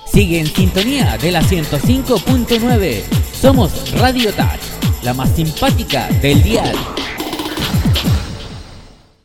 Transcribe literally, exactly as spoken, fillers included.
Sigue en sintonía de la ciento cinco punto nueve. Somos Radio Touch, la más simpática del dial.